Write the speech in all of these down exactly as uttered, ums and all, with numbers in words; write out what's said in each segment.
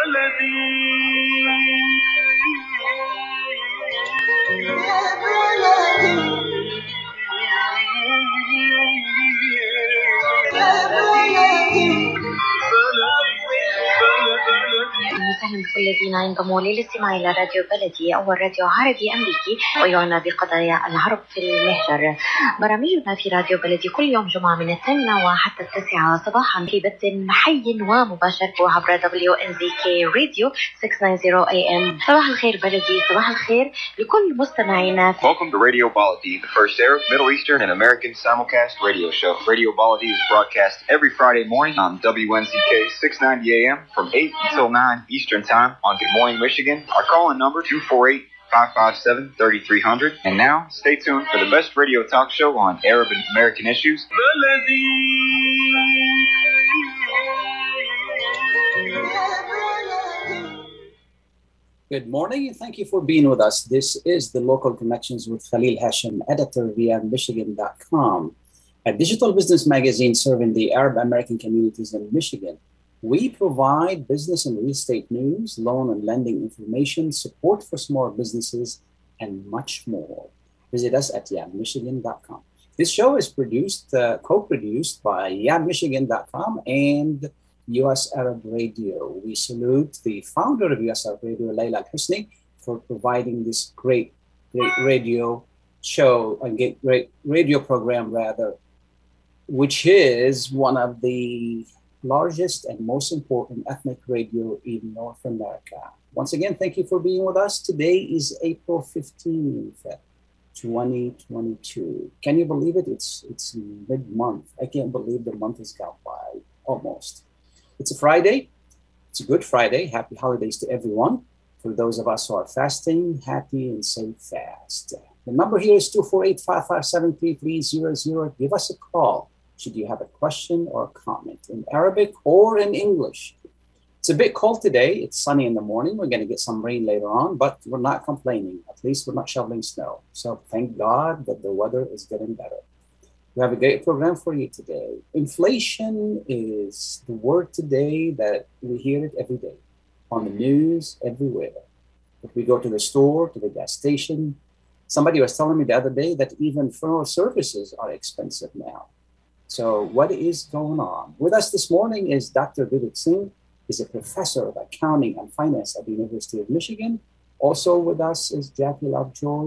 وسهلا بكل الذين ينضموا للاستماع إلى راديو بلدي، أول راديو عربي أمريكي ويعنى بقضايا العرب في المهجر. برامجنا في راديو بلدي كل يوم جمعة من الثامنة وحتى التاسعة صباحا في بث حي ومباشر عبر دبليو إن زي كي راديو ستمية وتسعين إيه إم. صباح الخير بلدي، صباح الخير لكل مستمعينا. Welcome to Radio Baladi, the first Arab, Middle Eastern, and American simulcast radio show. Radio Baladi is broadcast every Friday morning on W N Z K six ninety A M from eight until nine Eastern Time on Good Morning Michigan. Our call-in number two four eight, five five seven, three three zero zero. And now, stay tuned for the best radio talk show on Arab and American issues. Good morning and thank you for being with us. This is the Local Connections with Khalil Hashim, editor via Michigan dot com, a digital business magazine serving the Arab American communities in Michigan. We provide business and real estate news, loan and lending information, support for small businesses, and much more. Visit us at yam michigan dot com. This show is produced, uh, co-produced by yam michigan dot com and U S Arab Radio. We salute the founder of U S Arab Radio, Layla Al-Husni, for providing this great, great radio show, a great radio program rather, which is one of the largest and most important ethnic radio in North America. Once again, thank you for being with us. Today is April fifteenth, twenty twenty-two. Can you believe it? It's it's mid-month. I can't believe the month has gone by, almost. It's a Friday. It's a good Friday. Happy holidays to everyone. For those of us who are fasting, happy and safe fast. The number here is two four eight, five five seven, three three zero zero. Give us a call should you have a question or a comment in Arabic or in English. It's a bit cold today. It's sunny in the morning. We're going to get some rain later on, but we're not complaining. At least we're not shoveling snow. So thank God that the weather is getting better. We have a great program for you today. Inflation is the word today that we hear it every day on the news, everywhere. If we go to the store, to the gas station, somebody was telling me the other day that even funeral services are expensive now. So what is going on? With us this morning is Doctor Vivek Singh. He's a professor of accounting and finance at the University of Michigan. Also with us is Jackie Lovejoy,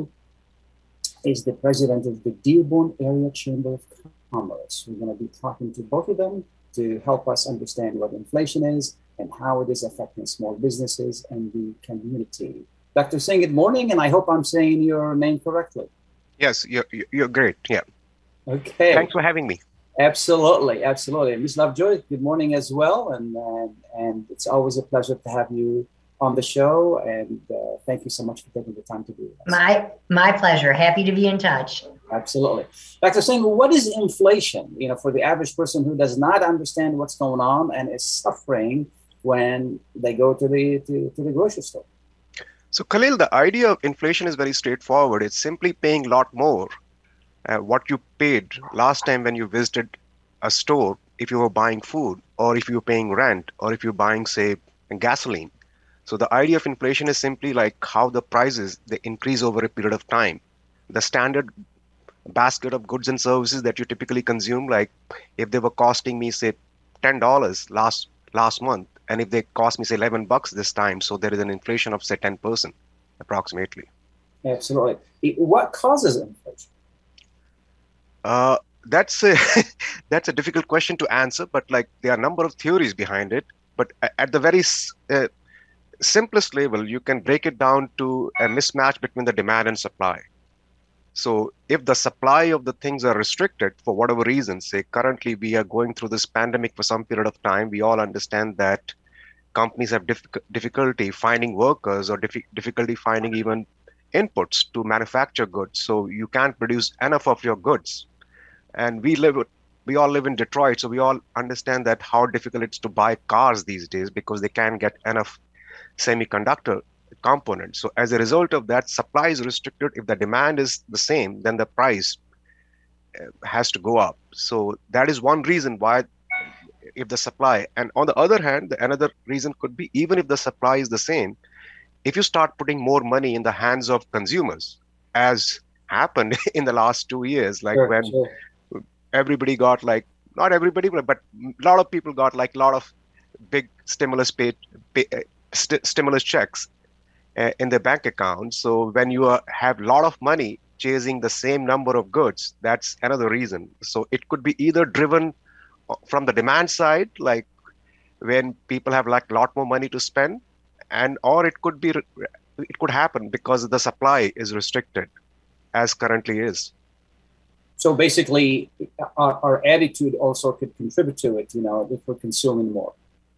is the president of the Dearborn Area Chamber of Commerce. We're going to be talking to both of them to help us understand what inflation is and how it is affecting small businesses and the community. Doctor Singh, good morning, and I hope I'm saying your name correctly. Yes, you're, you're great. Yeah. Okay. Thanks for having me. Absolutely, absolutely. Miz Lovejoy, good morning as well, and and, and it's always a pleasure to have you on the show, and uh, thank you so much for taking the time to be with us. My my pleasure. Happy to be in touch. Absolutely. Doctor Singh, what is inflation? You know, for the average person who does not understand what's going on and is suffering when they go to the to, to the grocery store. So Khalil, the idea of inflation is very straightforward. It's simply paying a lot more uh, what you paid last time when you visited a store if you were buying food, or if you're paying rent, or if you're buying, say, gasoline. So the idea of inflation is simply like how the prices, they increase over a period of time. The standard basket of goods and services that you typically consume, like if they were costing me, say, ten dollars last last month, and if they cost me, say, eleven bucks this time, so there is an inflation of, say, ten percent approximately. Absolutely. What causes inflation? Uh, that's a, that's a difficult question to answer, but like there are a number of theories behind it. But at the very uh, simplest level, you can break it down to a mismatch between the demand and supply. So if the supply of the things are restricted for whatever reason, say currently we are going through this pandemic for some period of time, we all understand that companies have diff- difficulty finding workers or diff- difficulty finding even inputs to manufacture goods. So you can't produce enough of your goods. And we live, we all live in Detroit, so we all understand that how difficult it's to buy cars these days because they can't get enough semiconductor components. So as a result of that, supply is restricted. If the demand is the same, then the price has to go up. So that is one reason why if the supply, and on the other hand, the another reason could be even if the supply is the same, if you start putting more money in the hands of consumers, as happened in the last two years, like Sure, when sure. everybody got like, not everybody, but, but a lot of people got like a lot of big stimulus pay, pay uh, st- stimulus checks uh, in their bank account. So when you are, have a lot of money chasing the same number of goods, that's another reason. So it could be either driven from the demand side, like when people have like a lot more money to spend, and or it could be it could happen because the supply is restricted as currently is. So basically, our, our attitude also could contribute to it, you know, if we're consuming more.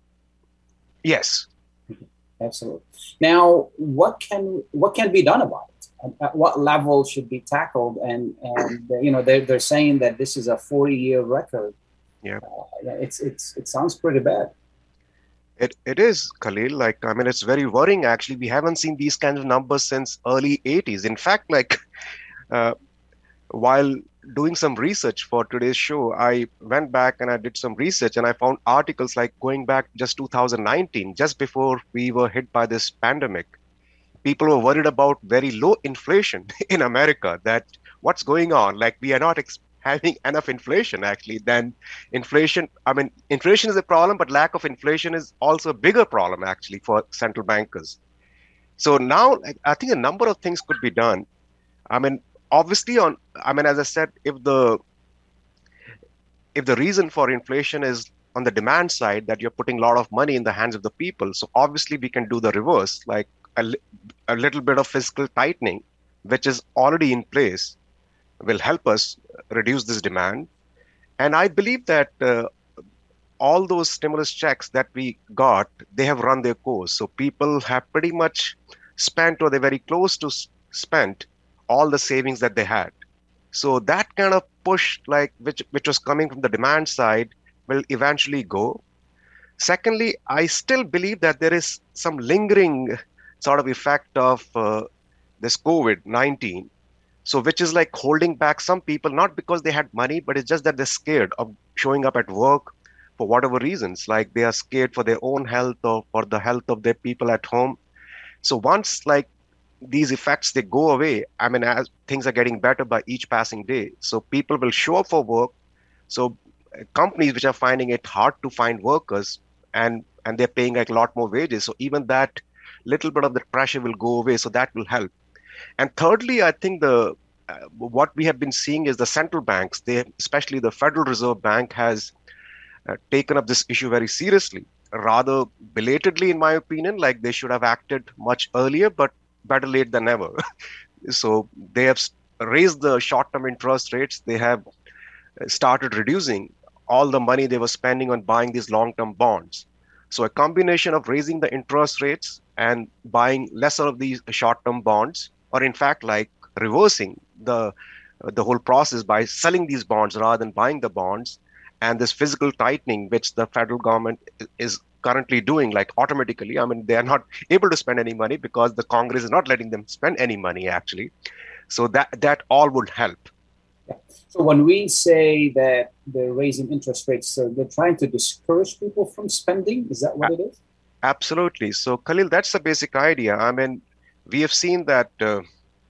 Yes. Absolutely. Now, what can what can be done about it? At what level should be tackled? And and you know, they're they're saying that this is a forty-year record. Yeah. Uh, it's it's it sounds pretty bad. It it is, Khalil. Like, I mean, it's very worrying. Actually, we haven't seen these kinds of numbers since early eighties. In fact, like, uh, while doing some research for today's show, I went back and I did some research, and I found articles like going back just two thousand nineteen, just before we were hit by this pandemic. People were worried about very low inflation in America. That what's going on? Like, we are not ex- having enough inflation. Actually, then inflation. I mean, inflation is a problem, but lack of inflation is also a bigger problem actually for central bankers. So now, like, I think a number of things could be done. I mean, obviously, on. I mean, as I said, if the if the reason for inflation is on the demand side, that you're putting a lot of money in the hands of the people, so obviously we can do the reverse, like a, a little bit of fiscal tightening, which is already in place, will help us reduce this demand. And I believe that uh, all those stimulus checks that we got, they have run their course. So people have pretty much spent, or they're very close to spent, all the savings that they had. So that kind of push, like which which was coming from the demand side, will eventually go. Secondly, I still believe that there is some lingering sort of effect of uh, this COVID nineteen. So which is like holding back some people, not because they had money, but it's just that they're scared of showing up at work for whatever reasons, like they are scared for their own health or for the health of their people at home. So once like these effects, they go away, I mean, as things are getting better by each passing day, so people will show up for work. So uh, companies which are finding it hard to find workers, and and they're paying like a lot more wages, so even that little bit of the pressure will go away, so that will help. And thirdly, I think the uh, what we have been seeing is the central banks, they, especially the Federal Reserve Bank, has uh, taken up this issue very seriously, rather belatedly in my opinion. Like, they should have acted much earlier, but better late than never. So they have raised the short-term interest rates. They have started reducing all the money they were spending on buying these long-term bonds. So a combination of raising the interest rates and buying lesser of these short-term bonds, or in fact, like reversing the the whole process by selling these bonds rather than buying the bonds, and this physical tightening, which the federal government is currently doing, like automatically. I mean, they are not able to spend any money because the Congress is not letting them spend any money actually. So that that all would help. Yeah. So when we say that they're raising interest rates, so they're trying to discourage people from spending. Is that what it is? Absolutely. So Khalil, that's the basic idea. I mean, we have seen that uh,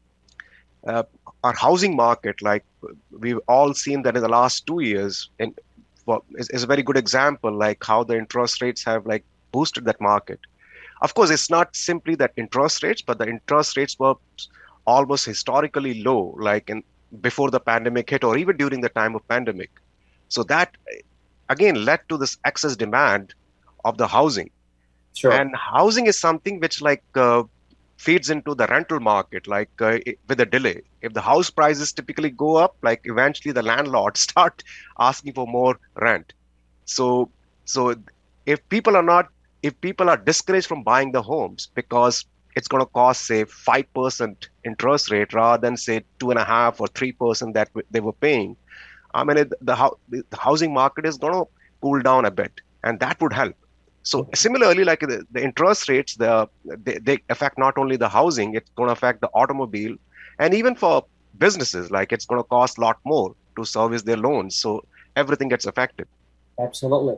uh, our housing market, like we've all seen that in the last two years, and well, is, is a very good example, like how the interest rates have like boosted that market. Of course, it's not simply that interest rates, but the interest rates were almost historically low, like in before the pandemic hit, or even during the time of pandemic. So that again led to this excess demand of the housing. Sure. And housing is something which like uh, feeds into the rental market, like uh, it, with a delay. If the house prices typically go up, like eventually the landlords start asking for more rent. So, so if people are not, if people are discouraged from buying the homes because it's going to cost, say, five percent interest rate rather than, say, two and a half or three percent that they were paying, I mean, it, the, the housing market is going to cool down a bit, and that would help. So similarly, like the, the interest rates, the, they, they affect not only the housing, it's going to affect the automobile, and even for businesses, like it's going to cost a lot more to service their loans. So everything gets affected. Absolutely.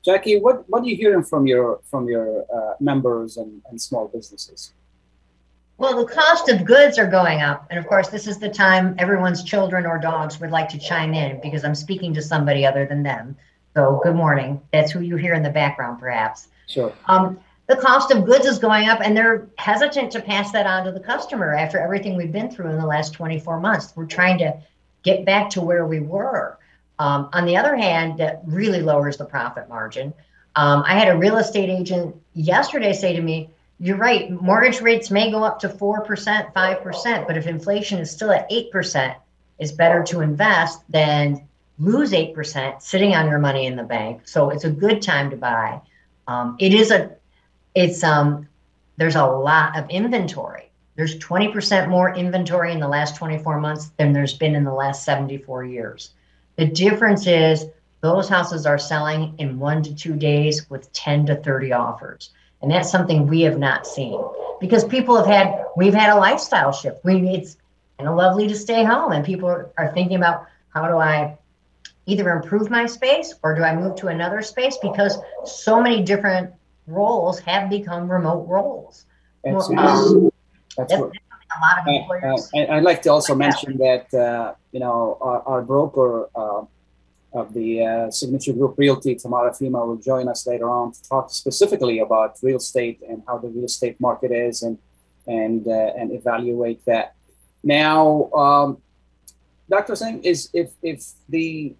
Jackie, what, what are you hearing from your from your uh, members and, and small businesses? Well, the cost of goods are going up. And of course, this is the time everyone's children or dogs would like to chime in because I'm speaking to somebody other than them. So good morning. That's who you hear in the background, perhaps. Sure. Um, the cost of goods is going up, and they're hesitant to pass that on to the customer after everything we've been through in the last twenty-four months. We're trying to get back to where we were. Um, on the other hand, that really lowers the profit margin. Um, I had a real estate agent yesterday say to me, you're right, mortgage rates may go up to four percent, five percent, but if inflation is still at eight percent, it's better to invest than lose eight percent sitting on your money in the bank. So it's a good time to buy. Um, it is a, it's, um, there's a lot of inventory. There's twenty percent more inventory in the last twenty-four months than there's been in the last seventy-four years. The difference is those houses are selling in one to two days with ten to thirty offers. And that's something we have not seen because people have had, we've had a lifestyle shift. We It's kind of lovely to stay home, and people are, are thinking about, how do I either improve my space or do I move to another space? Because so many different roles have become remote roles. Absolutely. Um, That's, that's, what, that's a lot of employers. uh, uh, I'd like to also mention that, uh, you know, our, our broker uh, of the uh, Signature Group Realty, Tamara Fima, will join us later on to talk specifically about real estate and how the real estate market is and and uh, and evaluate that. Now, um, Doctor Singh, is if if the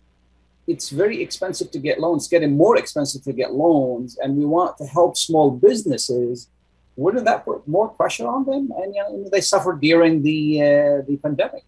it's very expensive to get loans, getting more expensive to get loans, and we want to help small businesses, wouldn't that put more pressure on them? And you know, they suffered during the uh, the pandemic.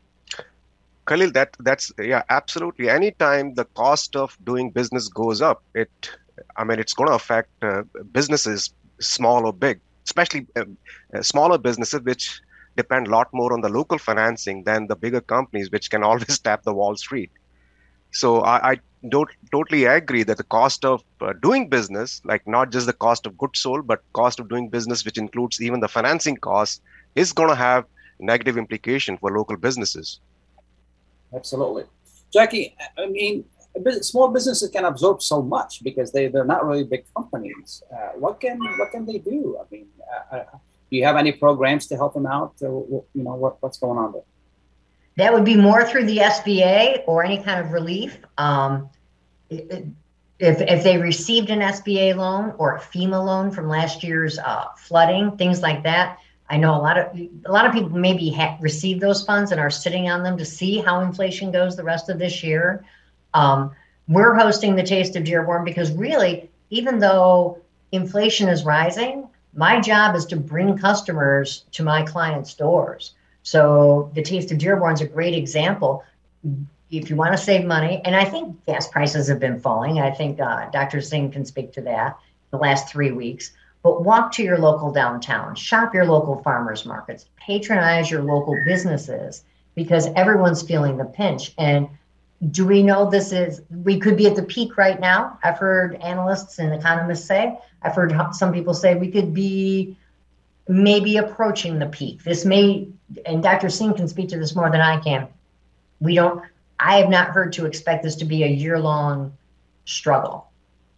Khalil, that that's yeah, absolutely. Anytime the cost of doing business goes up, it, I mean, it's going to affect uh, businesses, small or big, especially uh, uh, smaller businesses, which depend a lot more on the local financing than the bigger companies, which can always tap the Wall Street. So I, I don't totally agree that the cost of uh, doing business, like not just the cost of goods sold, but cost of doing business, which includes even the financing costs, is going to have negative implication for local businesses. Absolutely. Jackie, I mean, small businesses can absorb so much because they, they're not really big companies. Uh, what can what can they do? I mean, uh, uh, do you have any programs to help them out? Uh, you know, what, what's going on there? That would be more through the S B A or any kind of relief. Um, if, if they received an S B A loan or a FEMA loan from last year's uh, flooding, things like that, I know a lot of a lot of people maybe ha- received those funds and are sitting on them to see how inflation goes the rest of this year. Um, we're hosting the Taste of Dearborn because really, even though inflation is rising, my job is to bring customers to my clients' doors. So the Taste of Dearborn is a great example. If you want to save money, and I think gas prices have been falling. I think uh, Doctor Singh can speak to that the last three weeks. But walk to your local downtown, shop your local farmers markets, patronize your local businesses because everyone's feeling the pinch. And do we know this is, we could be at the peak right now? I've heard analysts and economists say, I've heard some people say we could be maybe approaching the peak. This may, and Doctor Singh can speak to this more than I can. We don't, I have not heard to expect this to be a year-long struggle.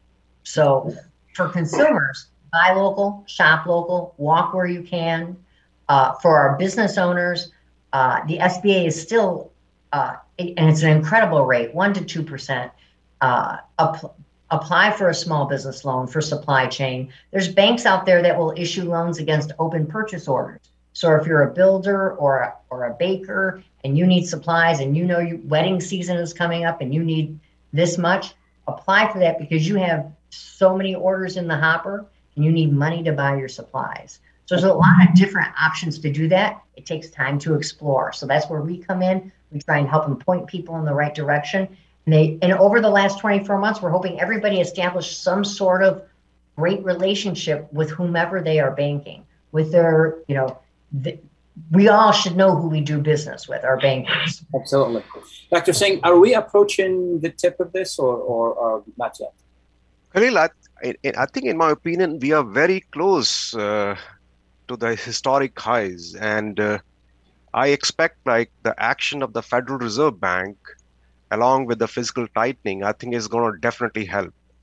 So for consumers, buy local, shop local, walk where you can. Uh, for our business owners, uh, the S B A is still, uh, and it's an incredible rate, one to two percent. Uh, app- apply for a small business loan for supply chain. There's banks out there that will issue loans against open purchase orders. So if you're a builder or a, or a baker and you need supplies and you know your wedding season is coming up and you need this much, apply for that because you have so many orders in the hopper and you need money to buy your supplies. So there's a lot of different options to do that. It takes time to explore. So that's where we come in. We try and help them point people in the right direction. And they, and over the last twenty-four months, we're hoping everybody established some sort of great relationship with whomever they are banking, with their, you know, the, we all should know who we do business with, our bankers. Absolutely. Doctor Singh, are we approaching the tip of this or, or, or not yet? Khalil, I, I think in my opinion, we are very close uh, to the historic highs. And uh, I expect like the action of the Federal Reserve Bank, along with the fiscal tightening, I think is going to definitely help.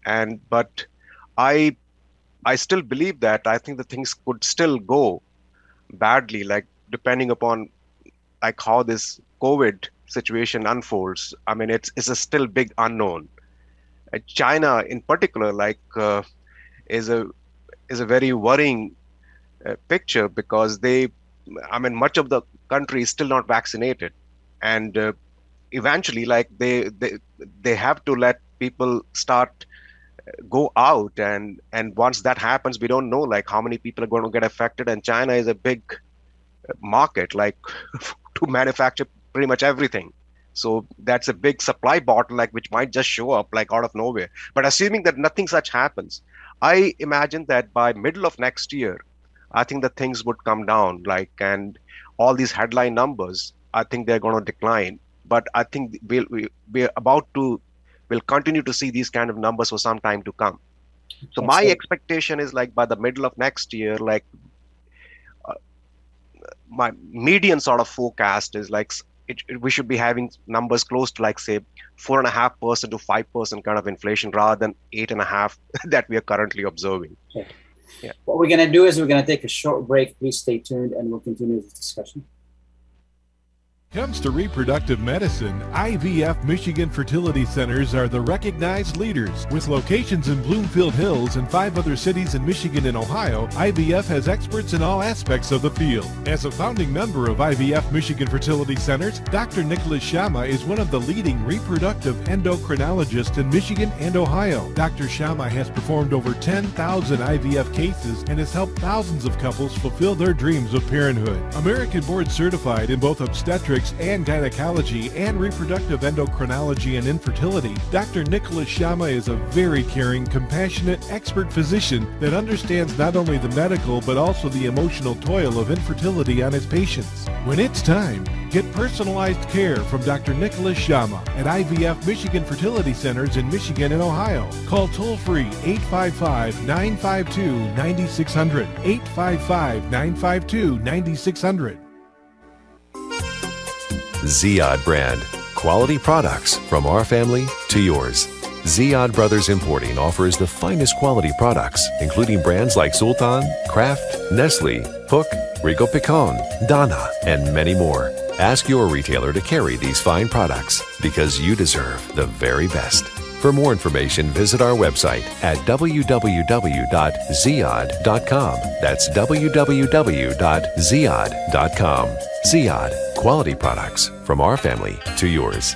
And but I I still believe that I think the things could still go badly, like depending upon like how this COVID situation unfolds. I mean, it's it's a still big unknown. Uh, China, in particular, like uh, is a is a very worrying uh, picture because they, I mean, much of the country is still not vaccinated, and uh, eventually, like they they they have to let people start go out, and and once that happens, we don't know like how many people are going to get affected. And China is a big market, like to manufacture pretty much everything. So that's a big supply bottleneck which might just show up like out of nowhere. But assuming that nothing such happens, I imagine that by middle of next year, I think that things would come down, like, and all these headline numbers, I think they're going to decline. But I think we'll, we, we're about to, we'll continue to see these kind of numbers for some time to come. So my expectation is like by the middle of next year, like uh, my median sort of forecast is like it, it, we should be having numbers close to like say four and a half percent to five percent kind of inflation rather than eight and a half that we are currently observing. Okay. Yeah. What we're going to do is we're going to take a short break. Please stay tuned and we'll continue this discussion. Comes to reproductive medicine, I V F Michigan Fertility Centers are the recognized leaders. With locations in Bloomfield Hills and five other cities in Michigan and Ohio, I V F has experts in all aspects of the field. As a founding member of I V F Michigan Fertility Centers, Doctor Nicholas Shama is one of the leading reproductive endocrinologists in Michigan and Ohio. Doctor Shama has performed over ten thousand I V F cases and has helped thousands of couples fulfill their dreams of parenthood. American board certified in both obstetrics and gynecology and reproductive endocrinology and infertility, Doctor Nicholas Shama is a very caring, compassionate, expert physician that understands not only the medical but also the emotional toil of infertility on his patients. When it's time, get personalized care from Doctor Nicholas Shama at I V F Michigan Fertility Centers in Michigan and Ohio. Call toll-free eight five five, nine five two, nine six zero zero, eight five five, nine five two, nine six zero zero. Ziyad brand. Quality products from our family to yours. Ziyad Brothers Importing offers the finest quality products, including brands like Sultan, Kraft, Nestle, Hook, Rico Picon, Dana, and many more. Ask your retailer to carry these fine products because you deserve the very best. For more information, visit our website at w w w dot ziyad dot com. That's w w w dot ziyad dot com. Ziyad, quality products from our family to yours.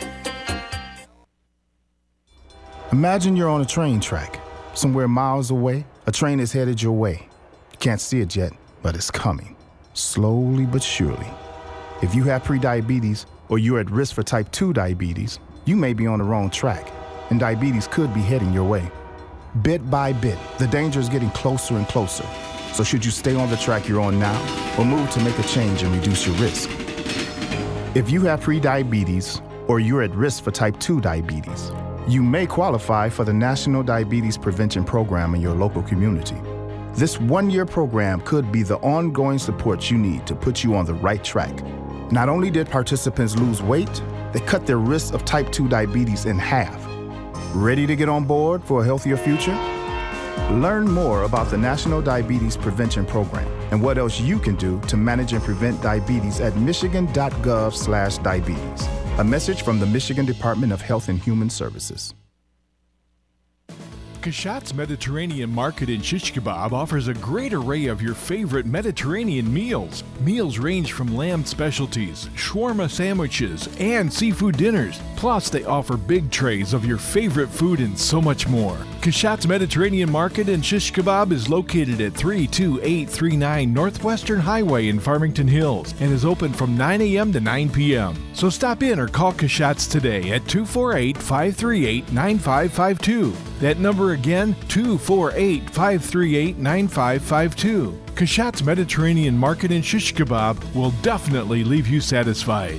Imagine you're on a train track. Somewhere miles away, a train is headed your way. You can't see it yet, but it's coming. Slowly but surely. If you have prediabetes or you're at risk for type two diabetes, you may be on the wrong track, and diabetes could be heading your way. Bit by bit, the danger is getting closer and closer. So should you stay on the track you're on now or move to make a change and reduce your risk? If you have prediabetes or you're at risk for type two diabetes, you may qualify for the National Diabetes Prevention Program in your local community. This one-year program could be the ongoing support you need to put you on the right track. Not only did participants lose weight, they cut their risk of type two diabetes in half. Ready to get on board for a healthier future? Learn more about the National Diabetes Prevention Program and what else you can do to manage and prevent diabetes at michigan.gov slash diabetes. A message from the Michigan Department of Health and Human Services. Kashat's Mediterranean Market in Shish Kebab offers a great array of your favorite Mediterranean meals. Meals range from lamb specialties, shawarma sandwiches, and seafood dinners. Plus, they offer big trays of your favorite food and so much more. Kashat's Mediterranean Market in Shish Kebab is located at three two eight three nine Northwestern Highway in Farmington Hills and is open from nine a.m. to nine p.m. So stop in or call Kashat's today at two four eight, five three eight, nine five five two. That number again, two four eight, five three eight, nine five five two. Kashat's Mediterranean Market in Shish Kebab will definitely leave you satisfied.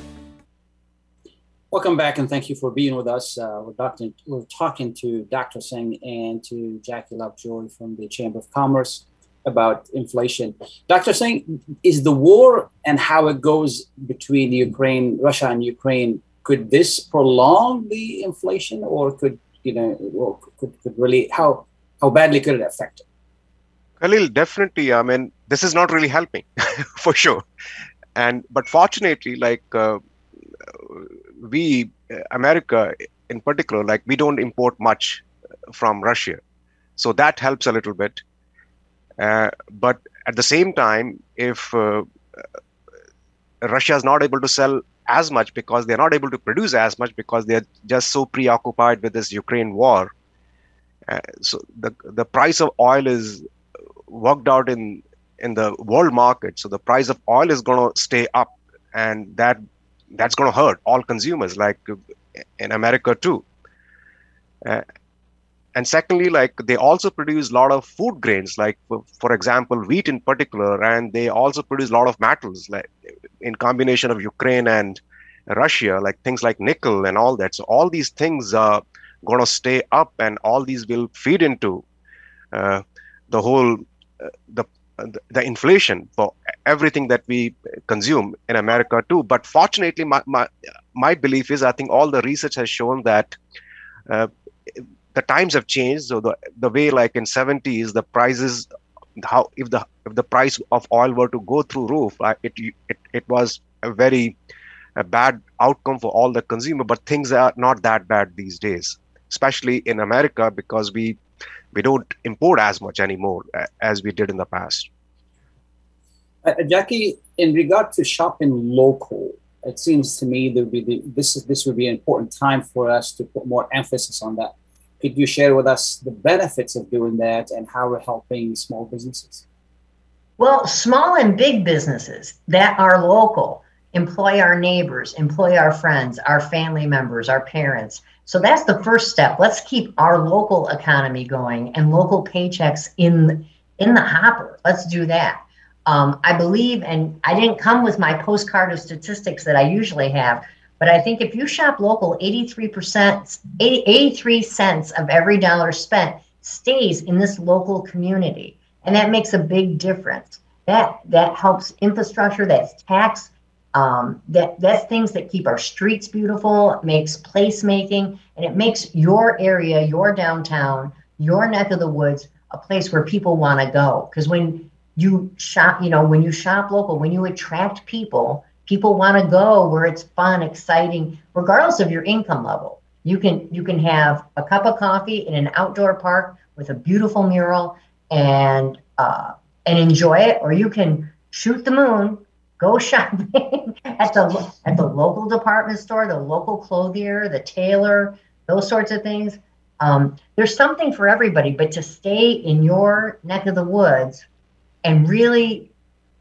Welcome back, and thank you for being with us. Uh, we're, doctor, we're talking to Doctor Singh and to Jackie Lovejoy from the Chamber of Commerce about inflation. Doctor Singh, is the war and how it goes between Ukraine, Russia and Ukraine, could this prolong the inflation, or could you know, well, could, could really, how, how badly could it affect it? Khalil, definitely. I mean, this is not really helping for sure. And, but fortunately, like uh, we, America in particular, like we don't import much from Russia. So that helps a little bit. Uh, but at the same time, if uh, Russia is not able to sell as much because they're not able to produce as much because they're just so preoccupied with this Ukraine war. Uh, so the the price of oil is worked out in in the world market. So the price of oil is going to stay up, and that that's going to hurt all consumers, like in America too. Uh, and secondly, like they also produce a lot of food grains, like for, for example, wheat in particular, and they also produce a lot of metals, like in combination of Ukraine and Russia, like things like nickel and all that. So all these things are going to stay up, and all these will feed into uh, the whole uh, the the inflation for everything that we consume in America too. But fortunately, my my, my belief is, I think all the research has shown that uh, the times have changed. So the the way, like in seventies, the prices, how if the if the price of oil were to go through roof, uh, it, it it was a very a bad outcome for all the consumer. But things are not that bad these days, especially in America, because we we don't import as much anymore uh, as we did in the past. Uh, Jackie, in regard to shopping local, it seems to me there would be the, this is this would be an important time for us to put more emphasis on that. Could you share with us the benefits of doing that and how we're helping small businesses? Well, small and big businesses that are local employ our neighbors, employ our friends, our family members, our parents. So that's the first step. Let's keep our local economy going and local paychecks in, in the hopper. Let's do that. Um, I believe, and I didn't come with my postcard of statistics that I usually have, but I think if you shop local, eighty-three percent, eighty-three cents of every dollar spent stays in this local community. And that makes a big difference. That that helps infrastructure, that's tax, um, that that's things that keep our streets beautiful, it makes placemaking, and it makes your area, your downtown, your neck of the woods, a place where people want to go. Because when you shop, you know, when you shop local, when you attract people, people want to go where it's fun, exciting, regardless of your income level. You can you can have a cup of coffee in an outdoor park with a beautiful mural and uh, and enjoy it, or you can shoot the moon, go shopping at the at the local department store, the local clothier, the tailor, those sorts of things. Um, there's something for everybody, but to stay in your neck of the woods and really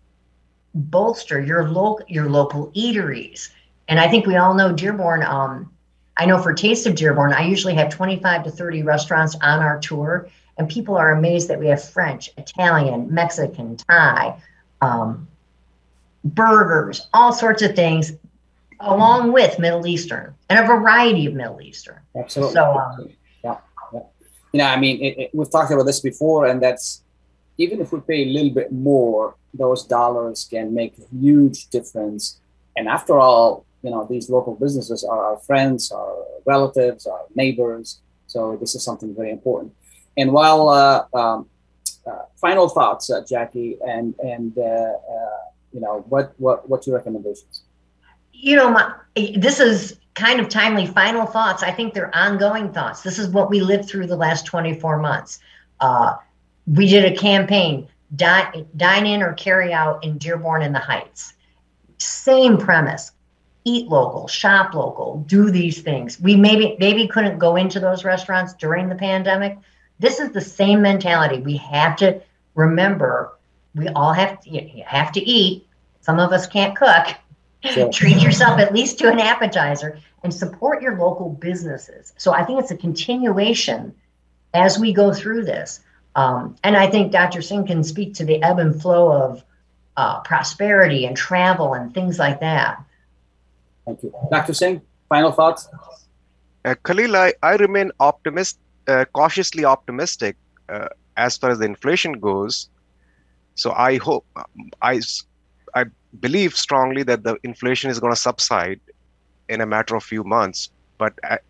bolster your local your local eateries. And I think we all know Dearborn. Um, I know for Taste of Dearborn, I usually have twenty-five to thirty restaurants on our tour, and people are amazed that we have French, Italian, Mexican, Thai, um, burgers, all sorts of things, along with Middle Eastern and a variety of Middle Eastern. Absolutely. So, um, yeah, yeah. You know, I mean, it, it, we've talked about this before, and that's even if we pay a little bit more, those dollars can make a huge difference. And after all, you know, these local businesses are our friends, our relatives, our neighbors. So this is something very important. And while, uh, um, uh, final thoughts, uh, Jackie, and and uh, uh, you know, what what what's your recommendations? You know, my, this is kind of timely. Final thoughts. I think they're ongoing thoughts. This is what we lived through the last twenty-four months. Uh, we did a campaign, dine, dine in or carry out in Dearborn and the Heights. Same premise. Eat local, shop local, do these things. We maybe maybe couldn't go into those restaurants during the pandemic. This is the same mentality. We have to remember, we all have to, you have to eat. Some of us can't cook. Sure. Treat yourself at least to an appetizer and support your local businesses. So I think it's a continuation as we go through this. Um, and I think Doctor Singh can speak to the ebb and flow of uh, prosperity and travel and things like that. Thank you. Doctor Singh, final thoughts? Uh, Khalil, I, I remain optimist, uh, cautiously optimistic uh, as far as the inflation goes. So I hope, I, I believe strongly that the inflation is going to subside in a matter of few months. But uh,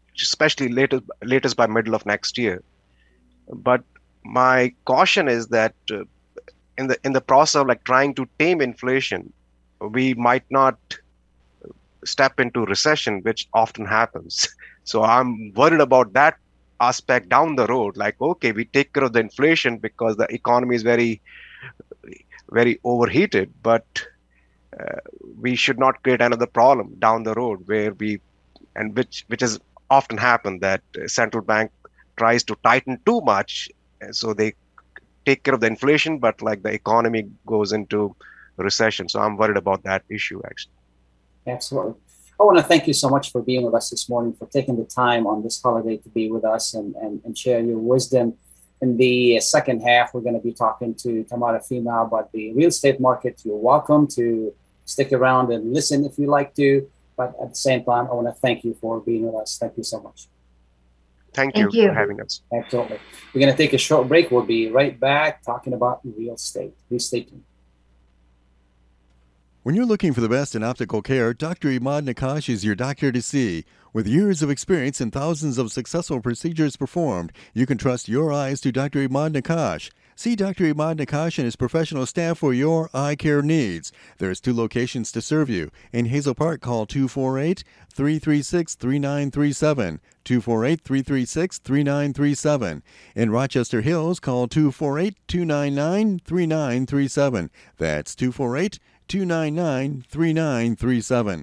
especially latest, latest by middle of next year. But my caution is that uh, in the in the process of like trying to tame inflation, we might not step into recession, which often happens. So I'm worried about that aspect down the road. Like, okay, we take care of the inflation because the economy is very, very overheated, but uh, we should not create another problem down the road where we, and which which has often happened, that central bank tries to tighten too much, so they take care of the inflation, but like the economy goes into recession. So I'm worried about that issue, actually. Absolutely. I want to thank you so much for being with us this morning, for taking the time on this holiday to be with us and, and, and share your wisdom. In the second half, we're going to be talking to Tamara Fima about the real estate market. You're welcome to stick around and listen if you like to. But at the same time, I want to thank you for being with us. Thank you so much. Thank, Thank you, you for having us. Absolutely. We're going to take a short break. We'll be right back talking about real estate. Please stay tuned. When you're looking for the best in optical care, Doctor Imad Nakash is your doctor to see. With years of experience and thousands of successful procedures performed, you can trust your eyes to Doctor Imad Nakash. See Doctor Imad Nakash and his professional staff for your eye care needs. There's two locations to serve you. In Hazel Park, call two four eight, three three six, three nine three seven, two four eight, three three six, three nine three seven. In Rochester Hills, call two four eight, two nine nine, three nine three seven. That's two four eight, two nine nine, three nine three seven.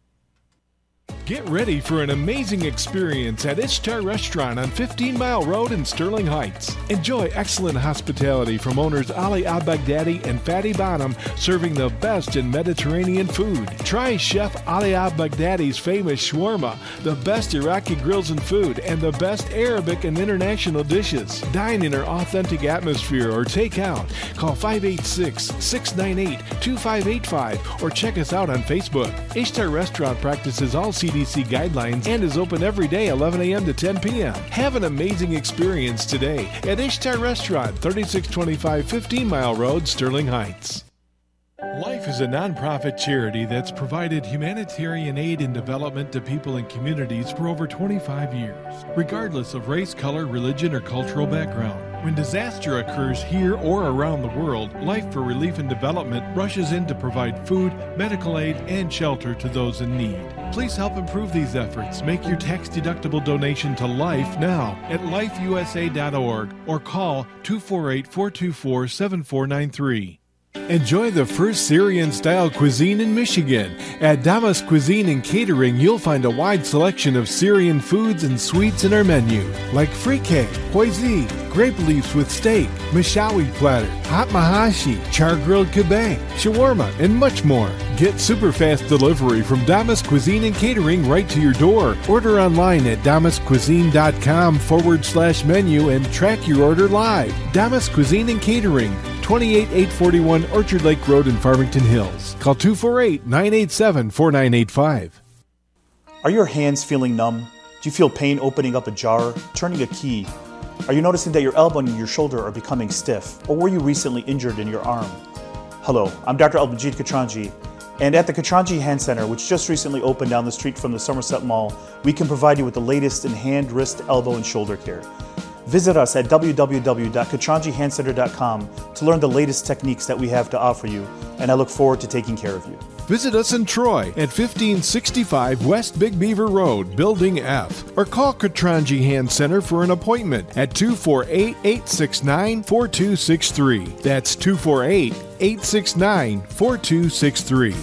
Get ready for an amazing experience at Ishtar Restaurant on fifteen Mile Road in Sterling Heights. Enjoy excellent hospitality from owners Ali Al-Baghdadi and Fatty Bonham, serving the best in Mediterranean food. Try Chef Ali Al-Baghdadi's famous shawarma, the best Iraqi grills and food, and the best Arabic and international dishes. Dine in our authentic atmosphere or take out. Call five eight six, six nine eight, two five eight five or check us out on Facebook. Ishtar Restaurant practices all C D C guidelines and is open every day eleven a.m. to ten p.m. Have an amazing experience today at Ishtar Restaurant, thirty-six twenty-five fifteen Mile Road, Sterling Heights. Life is a nonprofit charity that's provided humanitarian aid and development to people and communities for over twenty-five years, regardless of race, color, religion, or cultural background. When disaster occurs here or around the world, Life for Relief and Development rushes in to provide food, medical aid, and shelter to those in need. Please help improve these efforts. Make your tax-deductible donation to Life now at life u s a dot org or call two four eight, four two four, seven four nine three. Enjoy the first Syrian-style cuisine in Michigan. At Damas Cuisine and Catering, you'll find a wide selection of Syrian foods and sweets in our menu, like frikeh, hoisin, grape leaves with steak, mashawi platter, hot mahashi, char-grilled kebab, shawarma, and much more. Get super fast delivery from Damas Cuisine and Catering right to your door. Order online at damascuisine.com forward slash menu and track your order live. Damas Cuisine and Catering, twenty-eight eight forty-one Orchard Lake Road in Farmington Hills. Call two four eight, nine eight seven, four nine eight five. Are your hands feeling numb? Do you feel pain opening up a jar, turning a key? Are you noticing that your elbow and your shoulder are becoming stiff? Or were you recently injured in your arm? Hello, I'm Doctor Al-Majid Katranji, and at the Katranji Hand Center, which just recently opened down the street from the Somerset Mall, we can provide you with the latest in hand, wrist, elbow, and shoulder care. Visit us at w w w dot katranji hand center dot com to learn the latest techniques that we have to offer you, and I look forward to taking care of you. Visit us in Troy at fifteen sixty-five West Big Beaver Road, Building F, or call Katranji Hand Center for an appointment at two four eight, eight six nine, four two six three. That's two four eight, eight six nine, four two six three.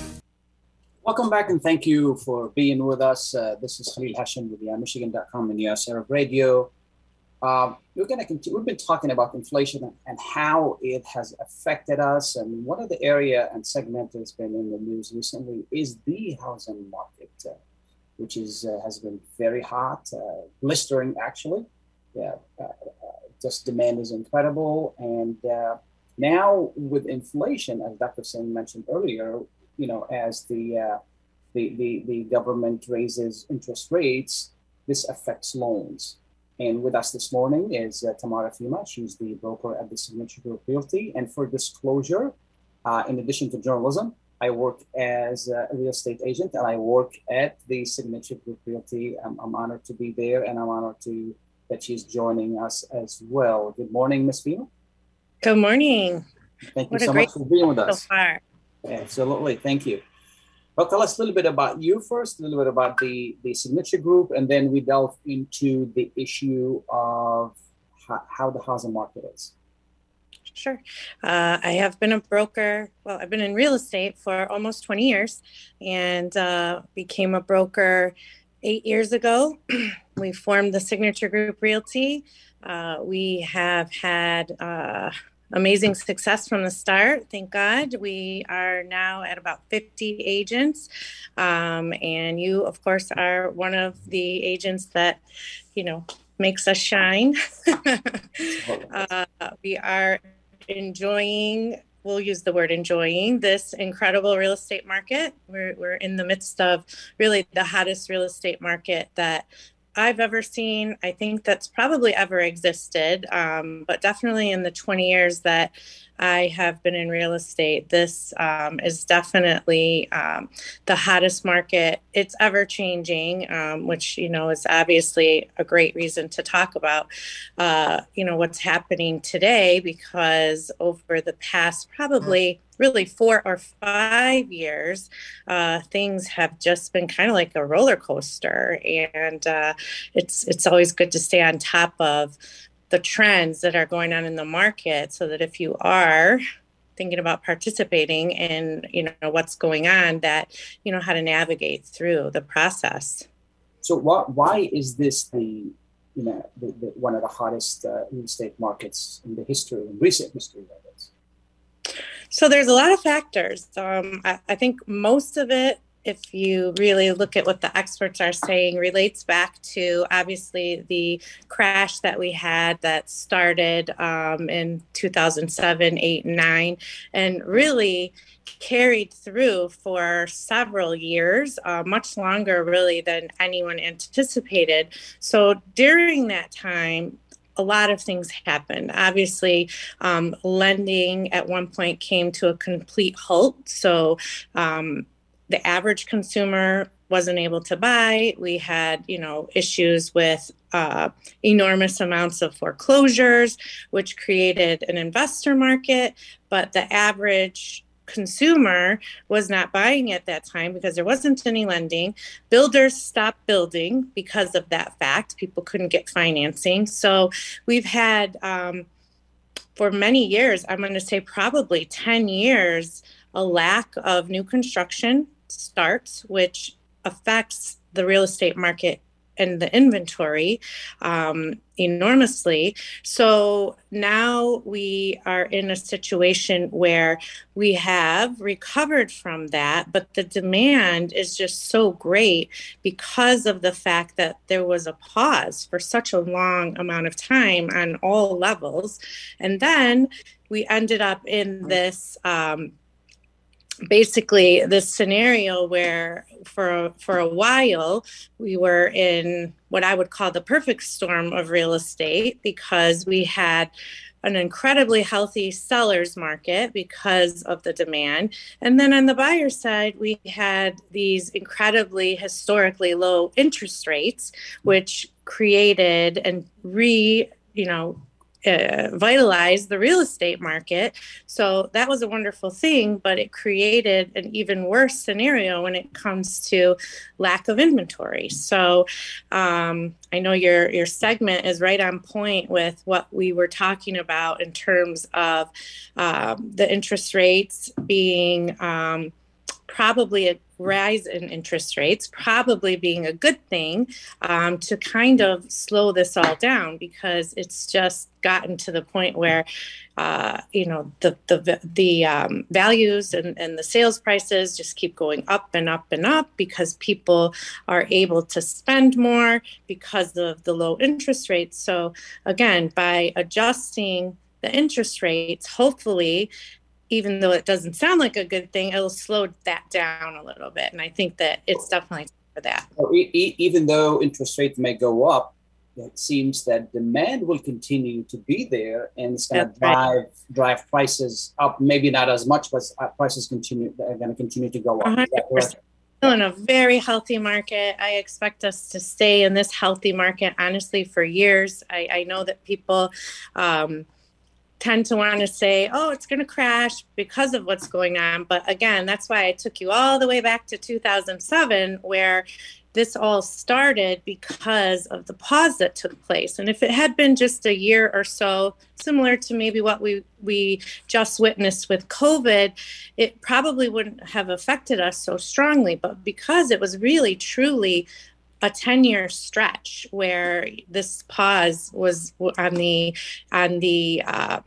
Welcome back and thank you for being with us. Uh, this is Khalil Hashim with the Michigan dot com and U S Arab Radio. Uh, we're going to continue. We've been talking about inflation and, and how it has affected us. And one of the area and segment that's been in the news recently is the housing market, uh, which is uh, has been very hot, uh, blistering actually. Yeah, uh, uh, just demand is incredible. And uh, now with inflation, as Doctor Singh mentioned earlier, you know, as the, uh, the the the government raises interest rates, this affects loans. And with us this morning is uh, Tamara Fima. She's the broker at the Signature Group Realty. And for disclosure, uh, in addition to journalism, I work as a real estate agent, and I work at the Signature Group Realty. I'm, I'm honored to be there, and I'm honored to that she's joining us as well. Good morning, Miz Fema. Good morning. Thank you what so great much for being with us. So far. Absolutely, thank you. Well, tell us a little bit about you first, a little bit about the, the Signature Group, and then we delve into the issue of how, how the housing market is. Sure. Uh, I have been a broker. Well, I've been in real estate for almost twenty years and uh, became a broker eight years ago. We formed the Signature Group Realty. Uh, we have had uh, amazing success from the start. Thank God. We are now at about fifty agents. Um, and you, of course, are one of the agents that, you know, makes us shine. uh, we are enjoying, we'll use the word enjoying, this incredible real estate market. We're, we're in the midst of really the hottest real estate market that I've ever seen. I think that's probably ever existed, um, but definitely in the twenty years that I have been in real estate, this um, is definitely um, the hottest market. It's ever changing, um, which, you know, is obviously a great reason to talk about, uh, you know, what's happening today, because over the past probably really four or five years, uh, things have just been kind of like a roller coaster. And uh, it's it's always good to stay on top of the trends that are going on in the market, so that if you are thinking about participating in, you know, what's going on, that you know how to navigate through the process. So why why is this the you know the, the, one of the hottest uh, real estate markets in the history, in recent history of it? So there's a lot of factors. Um, I, I think most of it, if you really look at what the experts are saying, relates back to obviously the crash that we had that started um, in two thousand seven, eight, and nine, and really carried through for several years, uh, much longer really than anyone anticipated. So during that time, a lot of things happened. Obviously, um, lending at one point came to a complete halt. So um, the average consumer wasn't able to buy. We had, you know, issues with uh, enormous amounts of foreclosures, which created an investor market. But the average consumer was not buying at that time because there wasn't any lending. Builders stopped building because of that fact. People couldn't get financing. So we've had, um, for many years, I'm going to say probably ten years, a lack of new construction starts, which affects the real estate market and the inventory um, enormously. So now we are in a situation where we have recovered from that, but the demand is just so great because of the fact that there was a pause for such a long amount of time on all levels. And then we ended up in this um, basically this scenario where for for a while we were in what I would call the perfect storm of real estate, because we had an incredibly healthy seller's market because of the demand. And then on the buyer side, we had these incredibly historically low interest rates, which created and re, you know, Uh, vitalize the real estate market. So that was a wonderful thing, but it created an even worse scenario when it comes to lack of inventory. So um, I know your your segment is right on point with what we were talking about in terms of um, the interest rates being um, probably a rise in interest rates, probably being a good thing um, to kind of slow this all down, because it's just gotten to the point where, uh, you know, the the the um, values and, and the sales prices just keep going up and up and up because people are able to spend more because of the low interest rates. So again, by adjusting the interest rates, hopefully, even though it doesn't sound like a good thing, it'll slow that down a little bit. And I think that it's definitely for that. So e- e- even though interest rates may go up, it seems that demand will continue to be there, and it's going to That's right. drive drive prices up. Maybe not as much, but uh, prices continue are going to continue to go up. Is that one hundred percent. correct? Still in a very healthy market. I expect us to stay in this healthy market, honestly, for years. I, I know that people um, tend to want to say, oh, it's going to crash because of what's going on. But again, that's why I took you all the way back to two thousand seven, where this all started because of the pause that took place. And if it had been just a year or so, similar to maybe what we, we just witnessed with COVID, it probably wouldn't have affected us so strongly. But because it was really, truly a ten-year stretch where this pause was on the on the uh,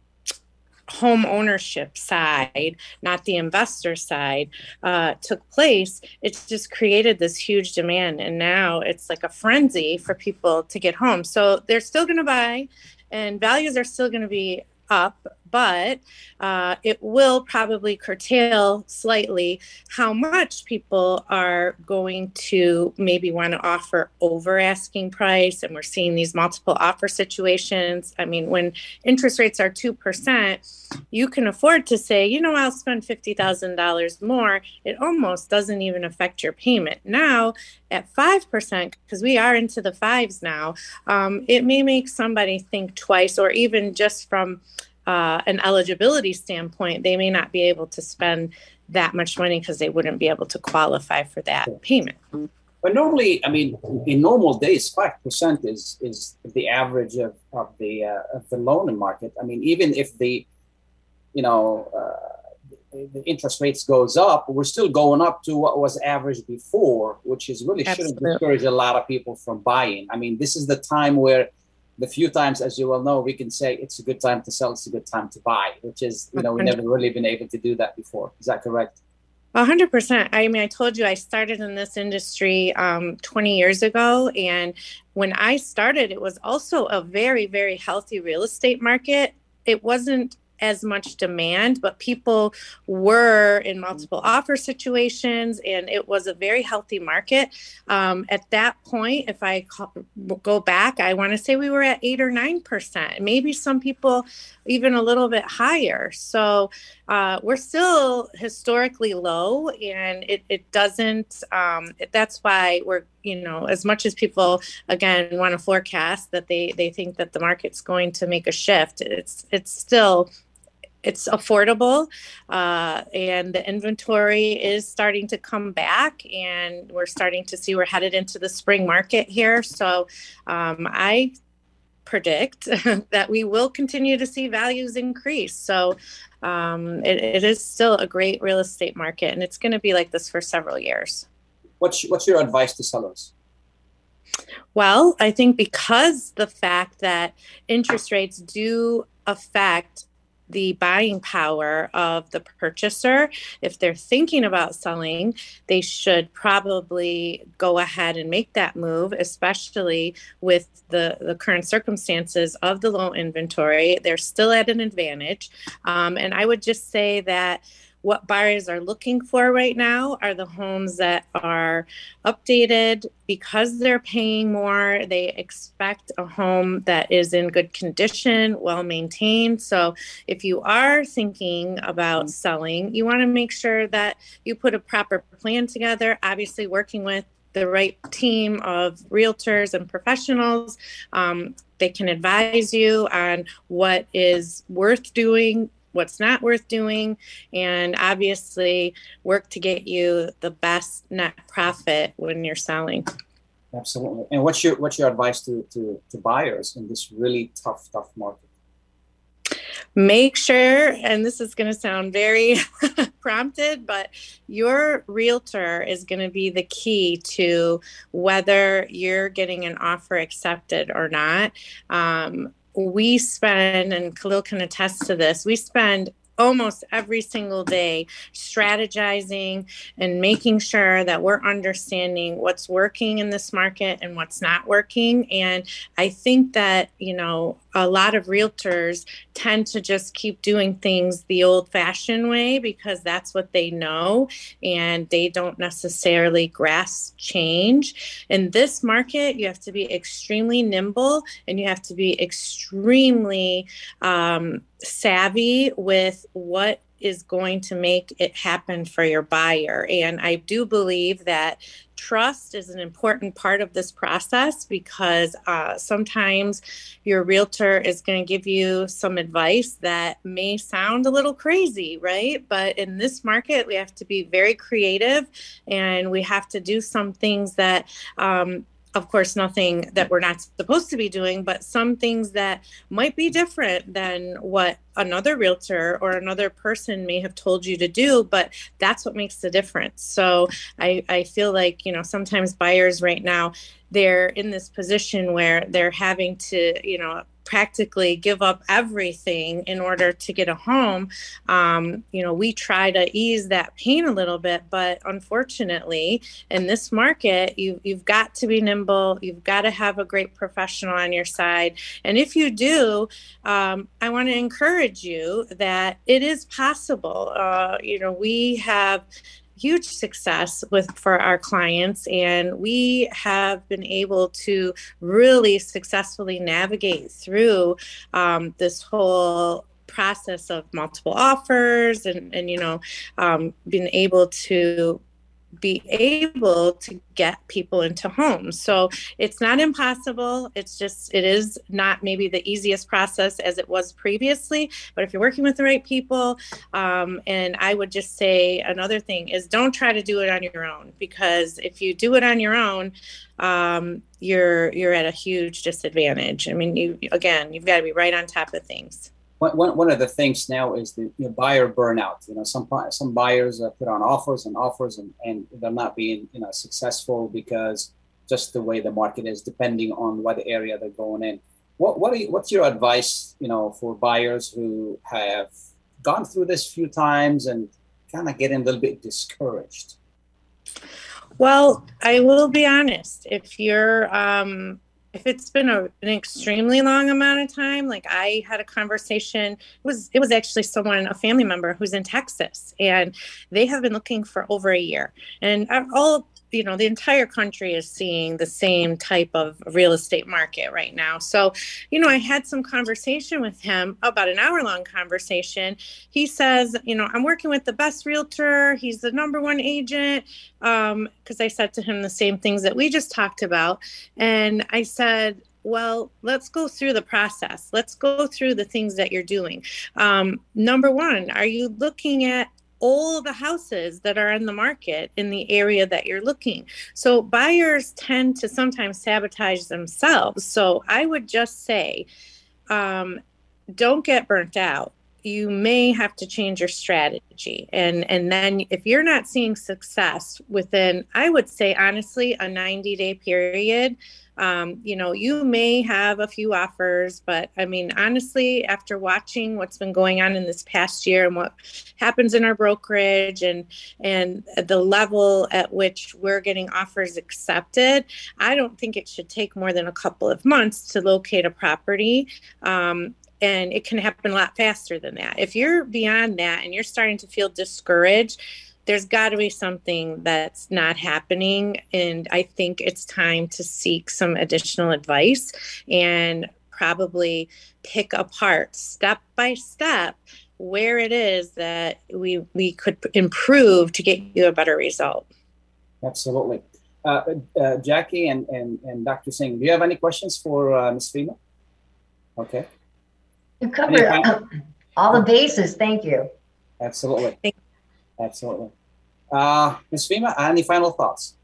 home ownership side, not the investor side, uh, took place, it just created this huge demand. And now it's like a frenzy for people to get home. So they're still going to buy, and values are still going to be up, but uh, it will probably curtail slightly how much people are going to maybe want to offer over asking price. And we're seeing these multiple offer situations. I mean, when interest rates are two percent, you can afford to say, you know, I'll spend fifty thousand dollars more. It almost doesn't even affect your payment. Now at five percent, because we are into the fives now, um, it may make somebody think twice, or even just from uh, an eligibility standpoint, they may not be able to spend that much money because they wouldn't be able to qualify for that payment. But normally, I mean, in normal days, five percent is is the average of, of the uh, of the loan market. I mean, even if the, you know, uh, the, the interest rates goes up, we're still going up to what was average before, which is really shouldn't discourage a lot of people from buying. I mean, this is the time where the few times, as you well know, we can say it's a good time to sell, it's a good time to buy, which is, you know, we've never really been able to do that before. Is that correct? A hundred percent. I mean, I told you I started in this industry um, twenty years ago. And when I started, it was also a very, very healthy real estate market. It wasn't as much demand, but people were in multiple offer situations, and it was a very healthy market. Um, at that point, if I go back, I want to say we were at eight or nine percent, maybe some people even a little bit higher. So uh, we're still historically low, and it, it doesn't, um, that's why we're, you know, as much as people, again, want to forecast that they, they think that the market's going to make a shift, it's, it's still, it's affordable, uh, and the inventory is starting to come back, and we're starting to see we're headed into the spring market here. So um, I predict that we will continue to see values increase. So um, it, it is still a great real estate market, and it's going to be like this for several years. What's, what's your advice to sellers? Well, I think because the fact that interest rates do affect the buying power of the purchaser, if they're thinking about selling, they should probably go ahead and make that move, especially with the, the current circumstances of the low inventory. They're still at an advantage. Um, and I would just say that what buyers are looking for right now are the homes that are updated because they're paying more. They expect a home that is in good condition, well maintained. So if you are thinking about selling, you want to make sure that you put a proper plan together, obviously working with the right team of realtors and professionals. Um, they can advise you on what is worth doing, what's not worth doing, and obviously work to get you the best net profit when you're selling. Absolutely. And what's your what's your advice to, to, to buyers in this really tough, tough market? Make sure, and this is going to sound very prompted, but your realtor is going to be the key to whether you're getting an offer accepted or not. Um, we spend, and Khalil can attest to this, we spend almost every single day strategizing and making sure that we're understanding what's working in this market and what's not working. And I think that, you know, a lot of realtors tend to just keep doing things the old-fashioned way because that's what they know, and they don't necessarily grasp change. In this market, you have to be extremely nimble, and you have to be extremely um, savvy with what is going to make it happen for your buyer. And I do believe that trust is an important part of this process because uh, sometimes your realtor is going to give you some advice that may sound a little crazy, right? But in this market, we have to be very creative, and we have to do some things that um, of course, nothing that we're not supposed to be doing, but some things that might be different than what another realtor or another person may have told you to do, but that's what makes the difference. So I, I feel like, you know, sometimes buyers right now, they're in this position where they're having to, you know, practically give up everything in order to get a home. Um, you know, we try to ease that pain a little bit, but unfortunately, in this market, you, you've got to be nimble. You've got to have a great professional on your side. And if you do, um, I want to encourage you that it is possible. Uh, you know, we have huge success with for our clients, and we have been able to really successfully navigate through um, this whole process of multiple offers and, and you know, um, been able to be able to get people into homes. So it's not impossible. It's just, it is not maybe the easiest process as it was previously, but if you're working with the right people, um, and I would just say another thing is don't try to do it on your own, because if you do it on your own, um, you're, you're at a huge disadvantage. I mean, you, again, you've got to be right on top of things. One, one of the things now is the you know, buyer burnout. You know, some some buyers uh, put on offers and offers, and, and they're not being you know successful because just the way the market is, depending on what area they're going in. What what are you, what's your advice, you know, for buyers who have gone through this few times and kind of getting a little bit discouraged? Well, I will be honest. If you're um, If it's been a, an extremely long amount of time, like I had a conversation, it was it was actually someone, a family member who's in Texas, and they have been looking for over a year. And all, you know, the entire country is seeing the same type of real estate market right now. So, you know, I had some conversation with him, about an hour long conversation. He says, you know, I'm working with the best realtor. He's the number one agent. Um, because I said to him the same things that we just talked about. And I said, well, let's go through the process. Let's go through the things that you're doing. Um, number one, are you looking at all the houses that are in the market in the area that you're looking? So buyers tend to sometimes sabotage themselves. So I would just say, um, don't get burnt out. You may have to change your strategy. And, and then if you're not seeing success within, I would say, honestly, a ninety day period, um, you know, you may have a few offers, but I mean, honestly, after watching what's been going on in this past year and what happens in our brokerage and, and the level at which we're getting offers accepted, I don't think it should take more than a couple of months to locate a property. Um, And it can happen a lot faster than that. If you're beyond that and you're starting to feel discouraged, there's got to be something that's not happening. And I think it's time to seek some additional advice and probably pick apart step by step where it is that we we could improve to get you a better result. Absolutely. Uh, uh, Jackie and, and, and Doctor Singh, do you have any questions for uh, Miz Fema? Okay. You covered all the bases. Thank you. Absolutely. Absolutely. Uh, Miz Fema, any final thoughts?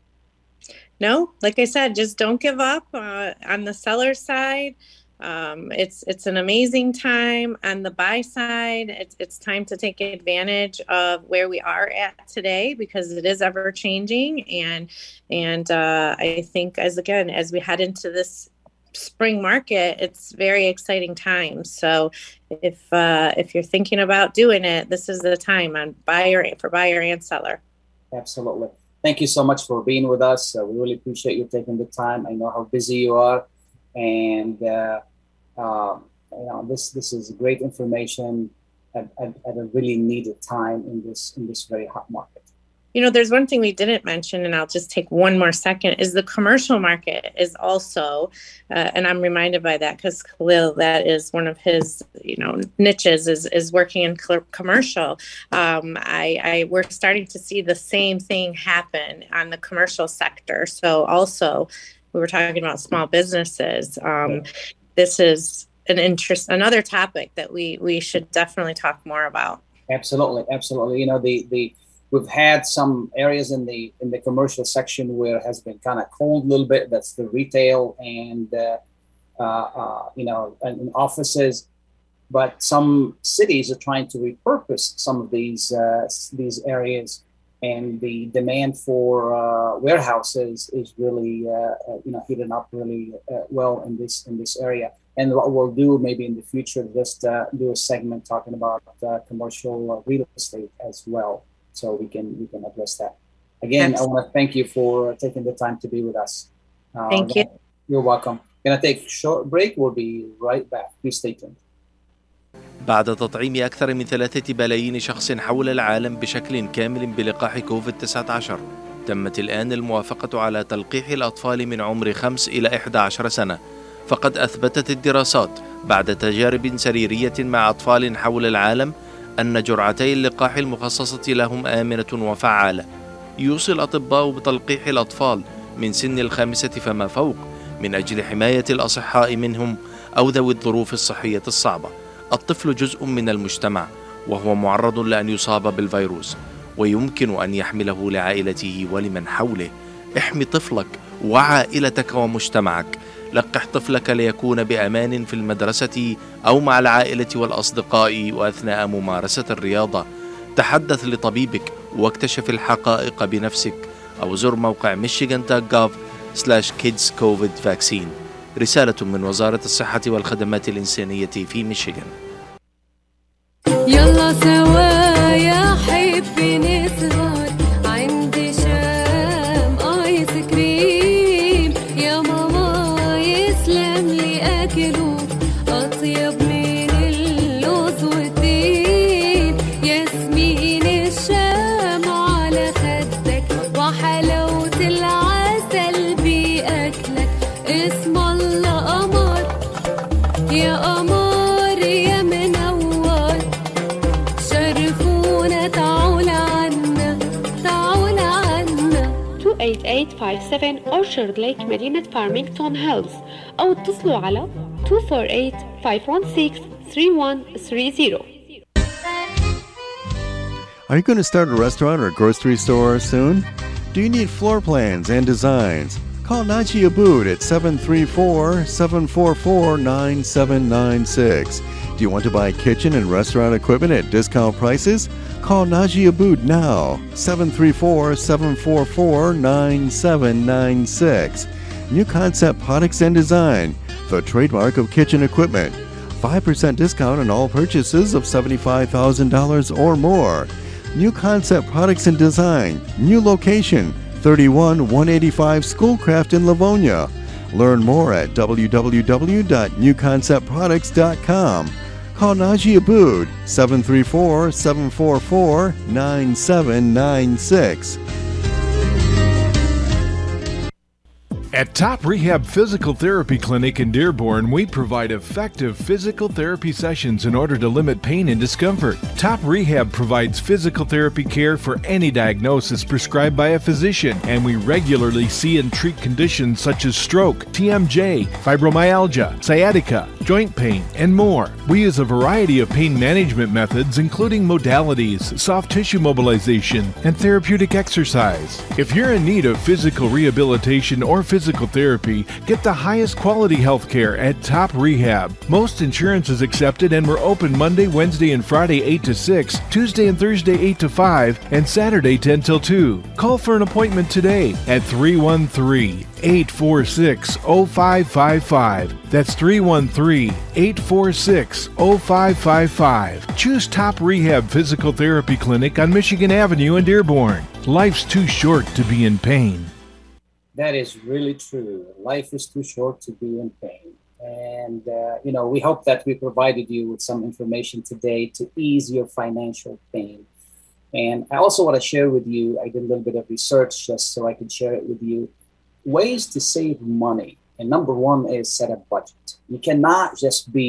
No, like I said, just don't give up uh, on the seller side. Um, it's it's an amazing time. On the buy side, it's it's time to take advantage of where we are at today, because it is ever changing. And and uh, I think as again as we head into this spring market, it's very exciting time. So if uh, if you're thinking about doing it, this is the time on buyer for buyer and seller. Absolutely. Thank you so much for being with us. Uh, we really appreciate you taking the time. I know how busy you are, and uh, uh, you know, this this is great information at, at, at a really needed time in this in this very hot market. You know, there's one thing we didn't mention, and I'll just take one more second, is the commercial market is also, uh, and I'm reminded by that because Khalil, that is one of his, you know, niches is is working in commercial. Um, I, I we're starting to see the same thing happen on the commercial sector. So also, we were talking about small businesses. Um, this is an interest, another topic that we we should definitely talk more about. Absolutely, absolutely. You know, the the we've had some areas in the in the commercial section where it has been kind of cold a little bit. That's the retail and uh, uh, uh, you know, and, and offices. But some cities are trying to repurpose some of these uh, these areas, and the demand for uh, warehouses is really uh, uh, you know heating up really uh, well in this in this area. And what we'll do maybe in the future, just uh, do a segment talking about uh, commercial uh, real estate as well. So we can we can address that. Again, Absolutely. I want to thank you for taking the time to be with us. Uh, thank you. You're welcome. Gonna take a short break. We'll be right back. Please stay tuned. بعد تطعيم أكثر من ثلاثة بلايين شخص حول العالم بشكل كامل بلقاح كوفيد تسعة عشر، تمت الآن الموافقة على تلقيح الأطفال من عمر خمس إلى إحدى عشرة سنة. فقد أثبتت الدراسات بعد تجارب سريرية مع أطفال حول العالم أن جرعتي اللقاح المخصصة لهم آمنة وفعالة. يوصي الأطباء بتلقيح الأطفال من سن الخامسة فما فوق من أجل حماية الأصحاء منهم أو ذوي الظروف الصحية الصعبة. الطفل جزء من المجتمع وهو معرض لأن يصاب بالفيروس، ويمكن أن يحمله لعائلته ولمن حوله. احمي طفلك وعائلتك ومجتمعك. لقح طفلك ليكون بأمان في المدرسة أو مع العائلة والأصدقاء وأثناء ممارسة الرياضة. تحدث لطبيبك واكتشف الحقائق بنفسك، أو زر موقع michigan dot gov slash kids covid vaccine. رسالة من وزارة الصحة والخدمات الإنسانية في ميشيغان. يلا سوا يا حبي نسهر عندي شام آيس كريم، يا ماما يسلم لي أكله أطيب من اللوز والتين، ياسمين الشام على خدك وحلاوة العسل بأكلك، اسم الله قمر يا قمر يا منور، شرفونا تعول عنا تعول عنا. two eight eight five seven Orchard Lake مدينة فارمينغتون هيلز، أو اتصلوا على two four eight five one six three one three zero. Are you going to start a restaurant or grocery store soon? Do you need floor plans and designs? Call Naji Abood at seven three four, seven four four, nine seven nine six. Do you want to buy kitchen and restaurant equipment at discount prices? Call Naji Abood now, seven three four, seven four four, nine seven nine six. New Concept Products and Design, the trademark of kitchen equipment. five percent discount on all purchases of seventy-five thousand dollars or more. New Concept Products and Design, new location, thirty-one one eighty-five Schoolcraft in Livonia. Learn more at w w w dot new concept products dot com. Call Naji Abood, seven three four, seven four four, nine seven nine six. At Top Rehab Physical Therapy Clinic in Dearborn, we provide effective physical therapy sessions in order to limit pain and discomfort. Top Rehab provides physical therapy care for any diagnosis prescribed by a physician, and we regularly see and treat conditions such as stroke, T M J, fibromyalgia, sciatica, joint pain, and more. We use a variety of pain management methods, including modalities, soft tissue mobilization, and therapeutic exercise. If you're in need of physical rehabilitation or physical Physical therapy, get the highest quality health care at Top Rehab. Most insurance is accepted, and we're open Monday, Wednesday, and Friday eight to six, Tuesday and Thursday eight to five, and Saturday ten till two. Call for an appointment today at three one three, eight four six, zero five five five. That's three one three, eight four six, zero five five five. Choose Top Rehab Physical Therapy Clinic on Michigan Avenue in Dearborn. Life's too short to be in pain. That is really true. Life is too short to be in pain. And, uh, you know, we hope that we provided you with some information today to ease your financial pain. And I also want to share with you, I did a little bit of research just so I could share it with you, ways to save money. And number one is set a budget. You cannot just be,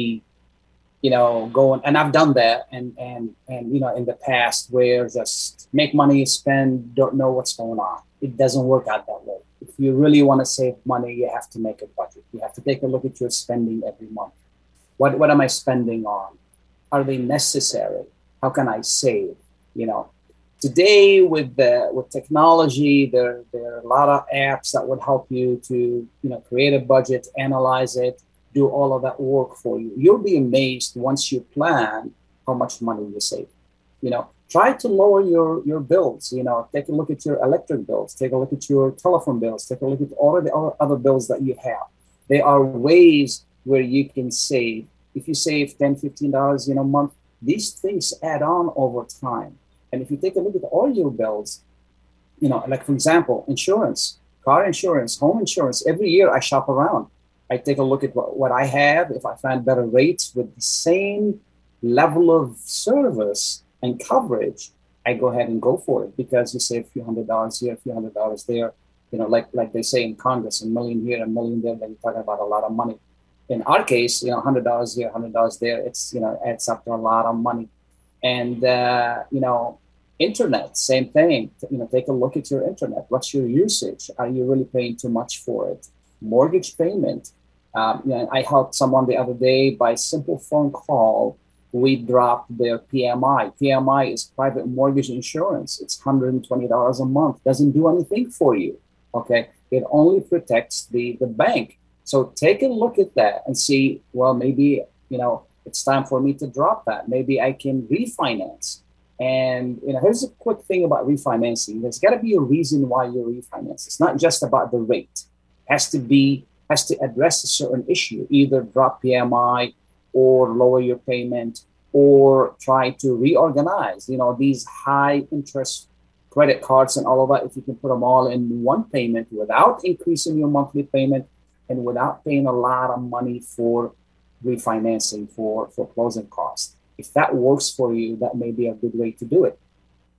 you know, going, and I've done that, and, and, and, you know, in the past where just make money, spend, don't know what's going on. It doesn't work out that way. If you really want to save money, you have to make a budget. You have to take a look at your spending every month. What, what am I spending on? Are they necessary? How can I save? You know, today with the, with technology, there, there are a lot of apps that would help you to, you know, create a budget, analyze it, do all of that work for you. You'll be amazed once you plan how much money you save. You know, try to lower your, your bills. You know, take a look at your electric bills, take a look at your telephone bills, take a look at all of the other bills that you have. There are ways where you can save. If you save ten dollars, fifteen dollars in a month, these things add on over time. And if you take a look at all your bills, you know, like for example, insurance, car insurance, home insurance, every year I shop around. I take a look at what, what I have. If I find better rates with the same level of service and coverage, I go ahead and go for it, because you save a few hundred dollars here, a few hundred dollars there. You know, like like they say in Congress, a million here, a million there, then you're talking about a lot of money. In our case, you know, one hundred dollars here, one hundred dollars there, it's, you know, adds up to a lot of money. And, uh, you know, internet, same thing. You know, take a look at your internet. What's your usage? Are you really paying too much for it? Mortgage payment. Um, you know, I helped someone the other day by simple phone call. We dropped their P M I. P M I is private mortgage insurance. It's one hundred twenty dollars a month. Doesn't do anything for you. Okay. It only protects the, the bank. So take a look at that and see, well, maybe, you know, it's time for me to drop that. Maybe I can refinance. And, you know, here's a quick thing about refinancing. There's got to be a reason why you refinance. It's not just about the rate. It has to be, has to address a certain issue, either drop P M I or lower your payment or try to reorganize, you know, these high interest credit cards and all of that. If you can put them all in one payment without increasing your monthly payment and without paying a lot of money for refinancing, for, for closing costs. If that works for you, that may be a good way to do it.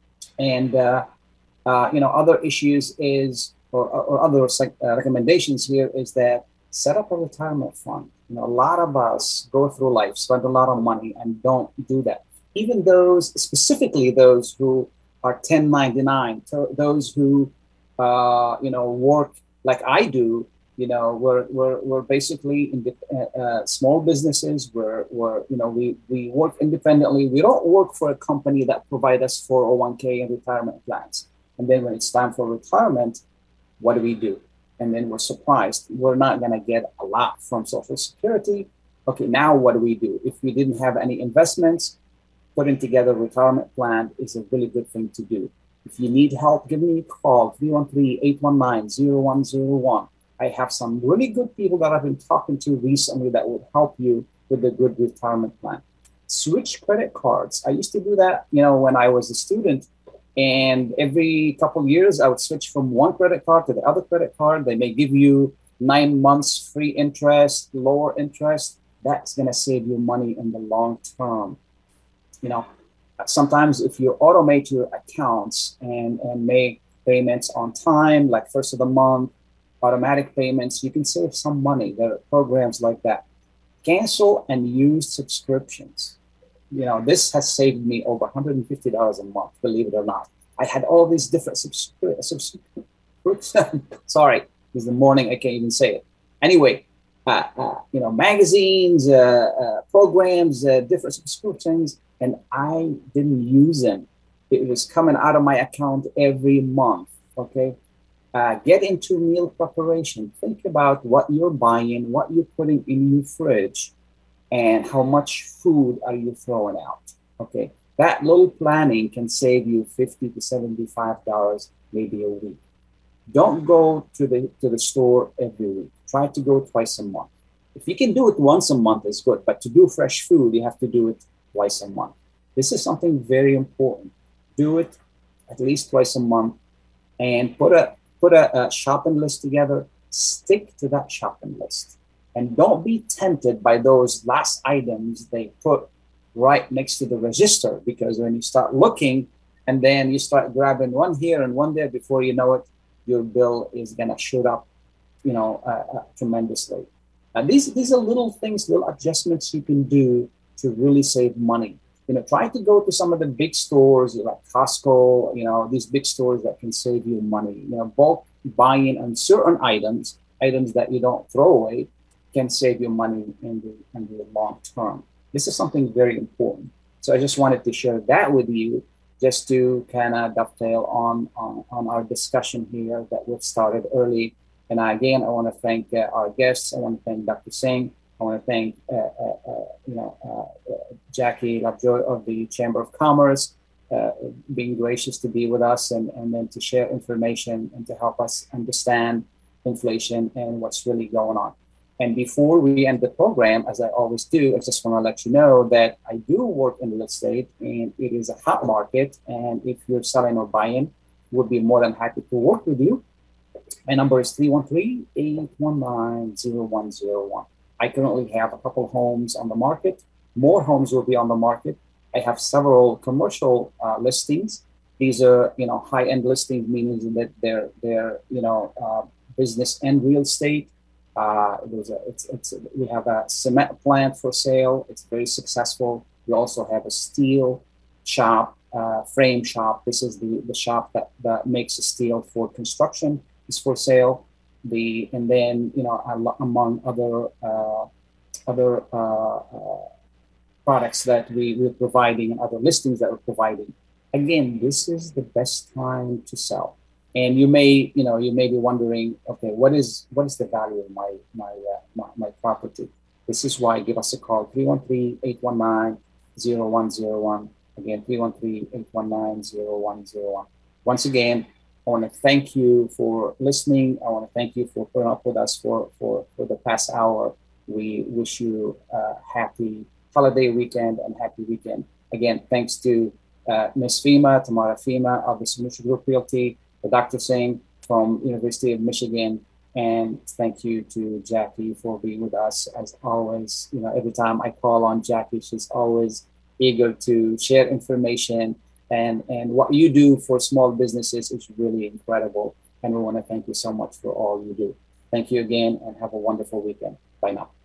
And, uh, uh, you know, other issues is, or, or other uh, recommendations here is that set up a retirement fund. You know, a lot of us go through life, spend a lot of money and don't do that. Even those, specifically those who are ten ninety-nine, those who, uh, you know, work like I do. You know, we're we're we're basically in the, uh, uh, small businesses. We're we're you know we we work independently. We don't work for a company that provides us four oh one k and retirement plans. And then when it's time for retirement, what do we do? And then we're surprised we're not going to get a lot from Social Security. Okay, now what do we do? If we didn't have any investments, putting together a retirement plan is a really good thing to do. If you need help, give me a call, three one three, eight one nine, zero one zero one. I have some really good people that I've been talking to recently that will help you with a good retirement plan. Switch credit cards. I used to do that, you know, when I was a student, and every couple of years I would switch from one credit card to the other credit card. They may give you nine months free interest, lower interest. That's going to save you money in the long term. You know, sometimes if you automate your accounts and, and make payments on time, like first of the month, automatic payments, you can save some money. There are programs like that. Cancel and use subscriptions. You know, this has saved me over one hundred fifty dollars a month, believe it or not. I had all these different subscriptions. Sorry, it's the morning, I can't even say it. Anyway, uh, uh, you know, magazines, uh, uh, programs, uh, different subscriptions, and I didn't use them. It was coming out of my account every month, okay? Uh, get into meal preparation. Think about what you're buying, what you're putting in your fridge, and how much food are you throwing out. Okay, that little planning can save you fifty to seventy-five dollars maybe a week. Don't go to the to the store every week. Try to go twice a month. If you can do it once a month, it's good. But to do fresh food, you have to do it twice a month. This is something very important. Do it at least twice a month, and put a Put a, a shopping list together, stick to that shopping list. And don't be tempted by those last items they put right next to the register, because when you start looking and then you start grabbing one here and one there, before you know it, your bill is going to shoot up, you know, uh, uh, tremendously. And these, these are little things, little adjustments you can do to really save money. You know, try to go to some of the big stores like Costco, you know, these big stores that can save you money. You know, bulk buying on certain items, items that you don't throw away, can save you money in the, in the long term. This is something very important. So I just wanted to share that with you, just to kind of dovetail on, on, on our discussion here that we've started early. And again, I want to thank uh, our guests. I want to thank Doctor Singh. I want to thank uh, uh, uh, you know uh, uh, Jackie Lovejoy of the Chamber of Commerce, uh, being gracious to be with us and, and then to share information and to help us understand inflation and what's really going on. And before we end the program, as I always do, I just want to let you know that I do work in real estate, and it is a hot market. And if you're selling or buying, we'll be more than happy to work with you. My number is three one three, eight one nine, zero one zero one. I currently have a couple homes on the market. More homes will be on the market. I have several commercial uh, listings. These are, you know, high-end listings, meaning that they're, they're you know, uh, business and real estate. Uh, there's a, it's, it's, we have a cement plant for sale. It's very successful. We also have a steel shop, uh, frame shop. This is the, the shop that, that makes steel for construction. Is for sale. The and then you know among other uh, other uh, uh, products that we, we're providing and other listings that we're providing. Again, this is the best time to sell. And you may you know you may be wondering, okay, what is what is the value of my my uh, my, my property? This is why give us a call, three one three, eight one nine, zero one zero one. Again, three one three, eight one nine, zero one zero one. Once again, I want to thank you for listening. I want to thank you for putting up with us for, for, for the past hour. We wish you a happy holiday weekend and happy weekend. Again, thanks to uh, Miz Fema, Tamara Fema of the Solution Group Realty, the Doctor Singh from University of Michigan, and thank you to Jackie for being with us as always. You know, every time I call on Jackie, she's always eager to share information. And, and what you do for small businesses is really incredible. And we want to thank you so much for all you do. Thank you again and have a wonderful weekend. Bye now.